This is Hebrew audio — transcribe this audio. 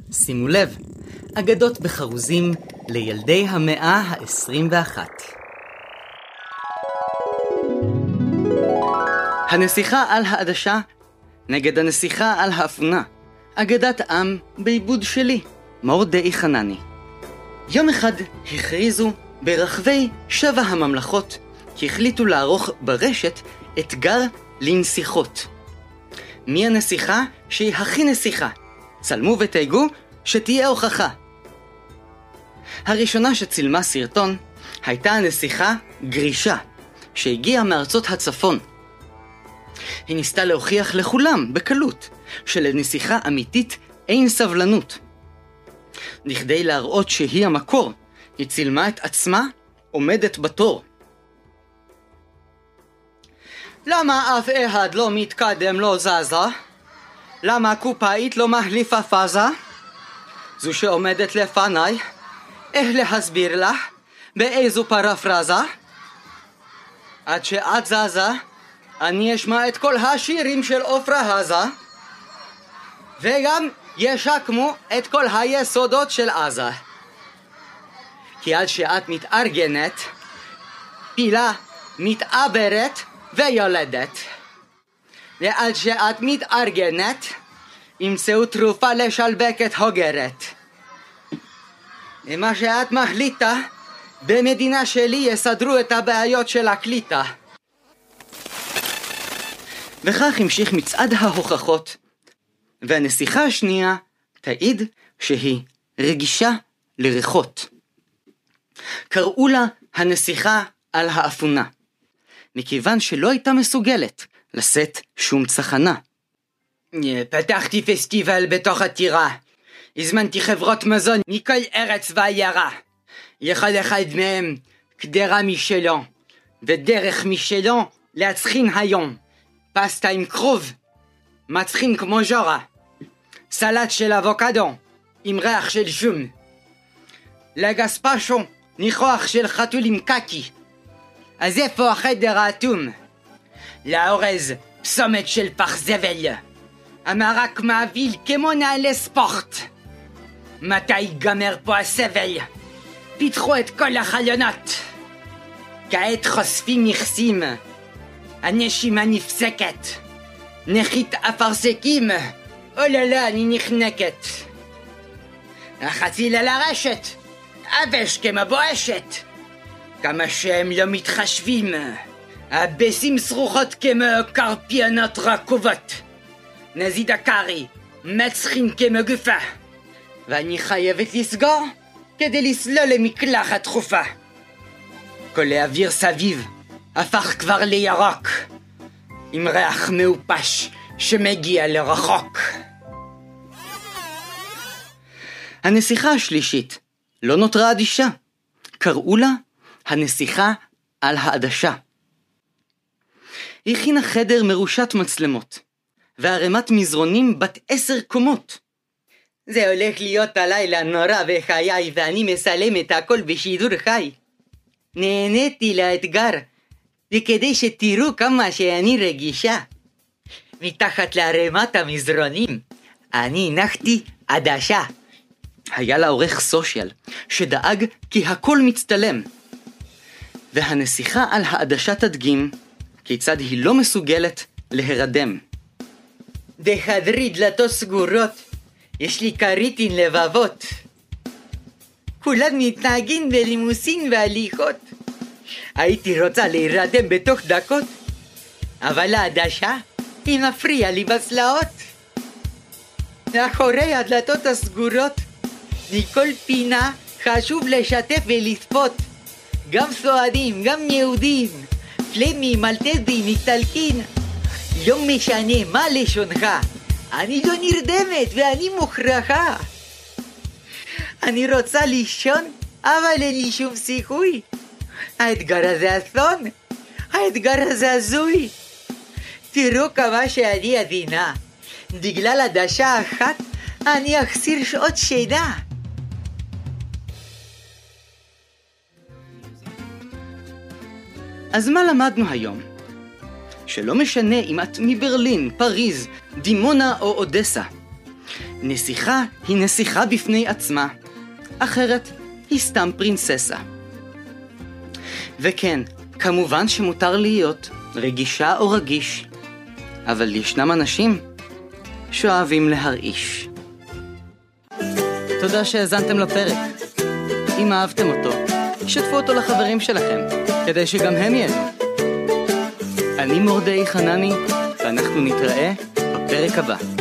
שימו לב, אגדות בחרוזים לילדי המאה ה-21. הנסיכה על העדשה נגד הנסיכה על האפונה. אגדת עם בעיבוד שלי, מורדאי חנני. יום אחד הכריזו ברחבי 7 הממלכות כי החליטו לערוך ברשת אתגר לנסיכות. מי הנסיכה שהיא הכי נסיכה? צלמו ותייגו שתהיה הוכחה. הראשונה שצילמה סרטון הייתה הנסיכה גרישה, שהגיעה מארצות הצפון. היא ניסתה להוכיח לכולם בקלות שלנסיכה אמיתית אין סבלנות. בכדי להראות שהיא המקור, היא צילמה את עצמה עומדת בתור. למה אף אחד לא מתקדם, לא זזה? למה הקופאית לא מחליפה פאזה? זו שעומדת לפניי, איך להסביר לה? באיזו פרפרזה? עד שאת זזה, אני אשמע את כל השירים של עופרה הזה, וגם ישקמו את כל היסודות של עזה. כי עד שאת מתארגנת, פילה מתעברת ויולדת. ועד שאת מתארגנת, ימצאו תרופה לשלבקת הוגרת. ומה שאת מחליטה, במדינה שלי יסדרו את הבעיות של הקליטה. וכך המשיך מצעד ההוכחות, והנסיכה השנייה תעיד שהיא רגישה לריחות. קראו לה הנסיכה על האפונה, מכיוון שלא הייתה מסוגלת לשאת שום צחנה. פתחתי פסטיבל בתוך הטירה, הזמנתי חברות מזון מכל ארץ ועיירה. לכל אחד מהם קדרה משלו, ודרך משלו להצחין היום. פסטה עם כרוב, מצחין כמו ז'ורה, סלט של אבוקדו עם ריח של שום, לגספשו ניחוח של חתול עם קקי. אז איפה החדר האטום? לאורז פסומת של פח זבל, המרק מעביל כמו נעלי ספורט. מתי ייגמר פה הסבל? פיתחו את כל החלונות, כעת חושפים מכסים, הנשימה נפסקת, נחית אפרסקים, אוללה אני נחנקת. החציל על הרשת, אבש כמו בואשת, כמה שהם לא מתחשבים, הבסים שרוחות כמו קרפיונות רכובות, נזיד הקרי, מצחין כמו גופה, ואני חייבת לסגור כדי לסלול למקלחת דחופה. כל האוויר סביב הפך כבר לירוק, עם ריח מאופש שמגיע לרחוק. הנסיכה השלישית לא נותרה אדישה. קראו לה הנסיכה על העדשה. היא הכינה חדר מרושת מצלמות, וערימת מזרונים בת 10 קומות. זה הולך להיות הלילה נורא בחיי, ואני מסלם את הכל בשידור חי. נהניתי לאתגר, וכדי שתראו כמה שאני רגישה, מתחת לערימת המזרונים אני הנחתי עדשה. היה לה עורך סושיאל שדאג כי הכל מצטלם, והנסיכה על העדשה תדגים כיצד היא לא מסוגלת להירדם. בחדרי דלתות סגורות יש לי קריטין לבבות, כולם מתנהגים בלימוסין והליכות. הייתי רוצה להירדם בתוך דקות, אבל העדשה היא מפריעה לי בצלעות. מאחורי הדלתות הסגורות מכל פינה חשוב לשתף ולצפות, גם סועדים, גם יהודים, פלמים, מלטזים, איטלקין. לא משנה מה לשונך, אני לא נרדמת ואני מוכרחה. אני רוצה לישון, אבל אין לי שום סיכוי. האתגר הזה אסון, האתגר הזה הזוי. תראו כמה שאני עדינה, בגלל עדשה אחת אני אחסיר שעות שינה. אז מה למדנו היום? שלא משנה אם את מברלין, פריז, דימונה או אודסה, נסיכה היא נסיכה בפני עצמה, אחרת היא סתם פרינססה. וכן, כמובן שמותר להיות רגישה או רגיש, אבל ישנם אנשים שאוהבים להרעיש. תודה שהאזנתם לפרק. אם אהבתם אותו, שתפו אותו לחברים שלכם, כדי שגם הם ייהנו. אני מורדאי חנני, ואנחנו נתראה בפרק הבא.